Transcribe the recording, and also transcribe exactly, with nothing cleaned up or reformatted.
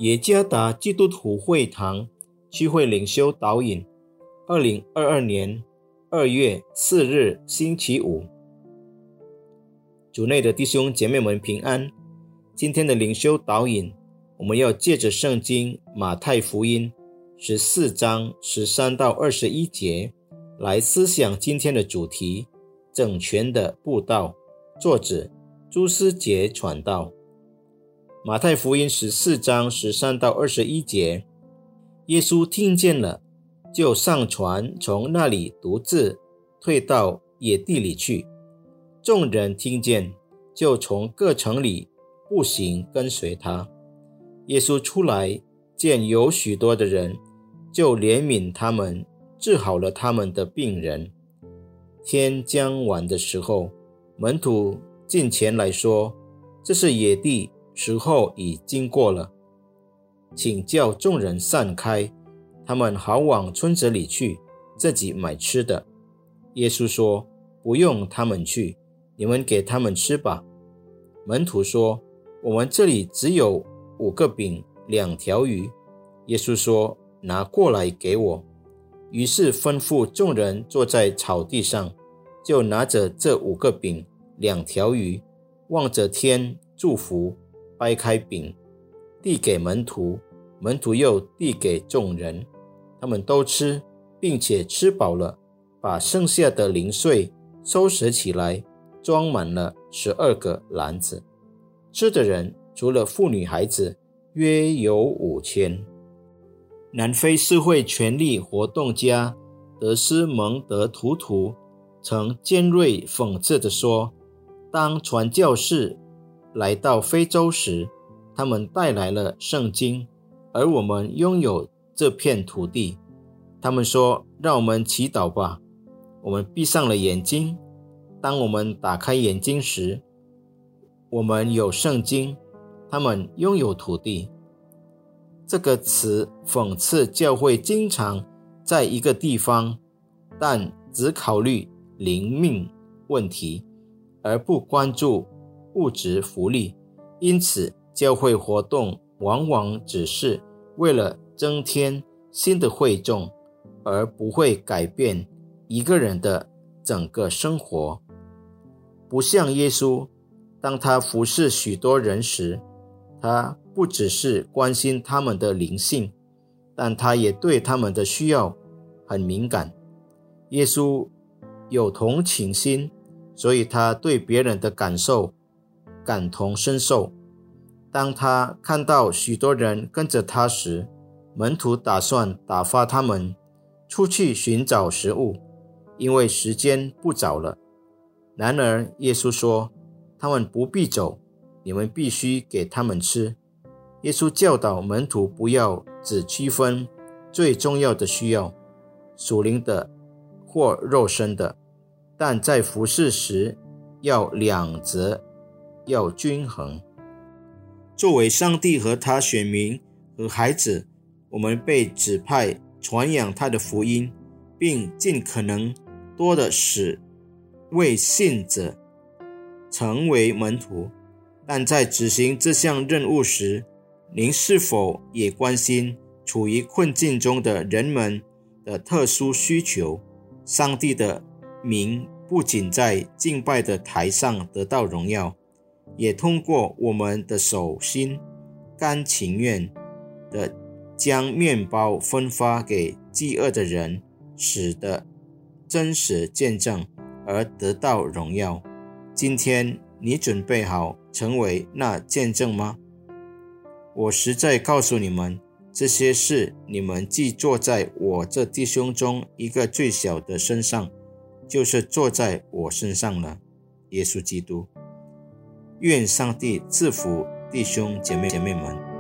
耶加达基督徒会堂聚会领袖导引，二零二二年二月四日星期五。主内的弟兄姐妹们平安。今天的领袖导引，我们要借着圣经马太福音十四章十三到二十一节来思想今天的主题：整全的布道。作者朱思杰传道。马太福音十四章十三到二十一节，耶稣听见了，就上船，从那里独自退到野地里去。众人听见，就从各城里步行跟随他。耶稣出来，见有许多的人，就怜悯他们，治好了他们的病人。天将晚的时候，门徒近前来说：这是野地，时候已经过了，请叫众人散开，他们好往村子里去，自己买吃的。耶稣说：不用他们去，你们给他们吃吧。门徒说：我们这里只有五个饼，两条鱼。耶稣说：拿过来给我。于是吩咐众人坐在草地上，就拿着这五个饼，两条鱼，望着天祝福，掰开饼，递给门徒，门徒又递给众人。他们都吃，并且吃饱了，把剩下的零碎收拾起来，装满了十二个篮子。吃的人除了妇女孩子，约有五千。南非社会权利活动家德斯蒙德图图曾尖锐讽刺地说：当传教士来到非洲时，他们带来了圣经，而我们拥有这片土地。他们说：让我们祈祷吧。我们闭上了眼睛，当我们打开眼睛时，我们有圣经，他们拥有土地。这个词讽刺教会经常在一个地方，但只考虑灵命问题，而不关注物质福利。因此教会活动往往只是为了增添新的会众，而不会改变一个人的整个生活。不像耶稣，当他服侍许多人时，他不只是关心他们的灵性，但他也对他们的需要很敏感。耶稣有同情心，所以他对别人的感受感同身受。当他看到许多人跟着他时，门徒打算打发他们出去寻找食物，因为时间不早了。然而耶稣说：他们不必走，你们必须给他们吃。耶稣教导门徒不要只区分最重要的需要，属灵的或肉身的，但在服事时要两者要均衡。作为上帝和他选民和孩子，我们被指派传扬他的福音，并尽可能多的使为信者成为门徒。但在执行这项任务时，您是否也关心处于困境中的人们的特殊需求？上帝的名不仅在敬拜的台上得到荣耀，也通过我们的手心甘情愿地将面包分发给饥饿的人，使得真实见证而得到荣耀。今天你准备好成为那见证吗？我实在告诉你们，这些事你们既做在我这弟兄中一个最小的身上，就是做在我身上了。耶稣基督。愿上帝赐福弟兄姐妹姐妹们。